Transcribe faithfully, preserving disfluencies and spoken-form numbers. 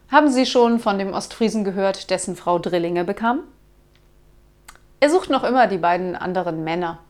Haben Sie schon von dem Ostfriesen gehört, dessen Frau Drillinge bekam? Er sucht noch immer die beiden anderen Männer.